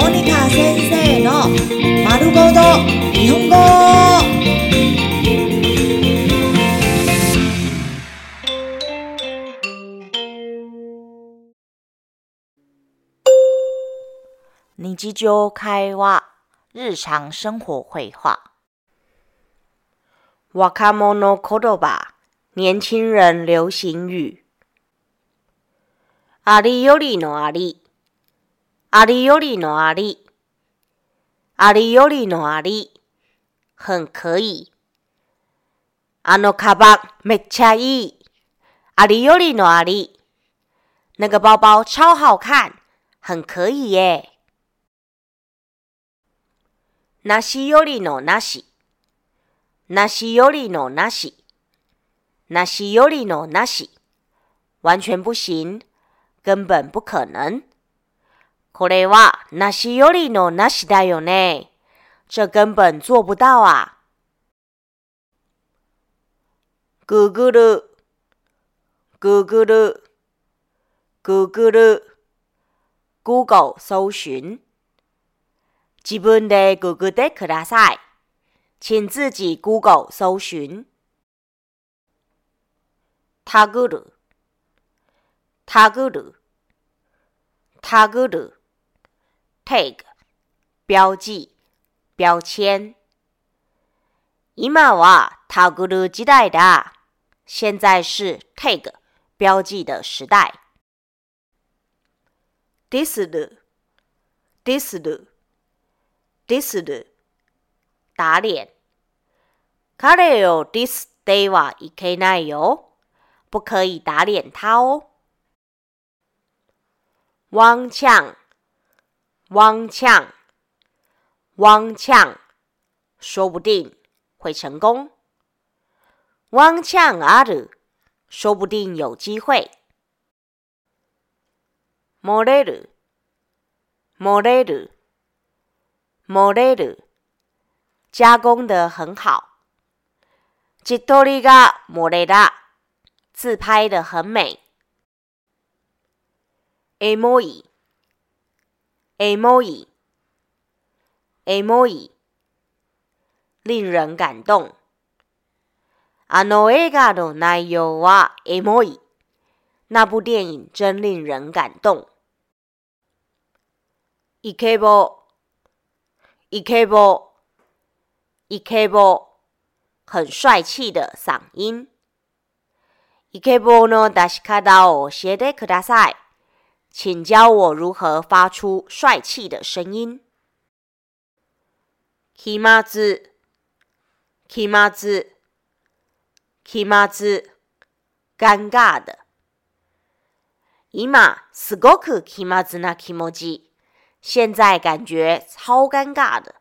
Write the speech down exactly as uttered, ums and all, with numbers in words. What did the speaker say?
モニカ先生の丸ごと日本語。日常会話、日常生活会話。若者言葉、年輕人流行語。ありよりのあり、ありよりのあり、ありよりのあり、很可以。あのカバンめっちゃいい。ありよりのあり。那个包包超好看，很可以耶。なしよりのなし。なしよりのなし。なしよりのなし。完全不行。根本不可能。これはなしよりのなしだよね。这根本做不到啊。Google、Google、Google、Google 搜尋。自分でググってください。請自己 Google 搜尋。タグる、タグる、タグる。tag 標記、標籤。今はタグる時代だ。現在是 tag 標記的時代。ディスる、ディスる、ディスる。打臉。彼をディスってはいけないよ。不可以打臉他哦。汪呛、汪呛、汪呛。說不定會成功。汪呛ある。說不定有機會。漏れる、漏れる、漏れる。加工得很好。自撮りが漏れだ。自拍得很美。エモい、エモい、エモい。令人感動。あの映画の内容はエモい。那部電影真令人感動。イケボ、イケボ、イケボ。很帥氣的嗓音。イケボの出し方を教えてください。請教我如何發出帥氣的聲音。気まず、気まず、気まず。尷尬的。今すごく気まずな気持ち。現在感覺超尷尬的。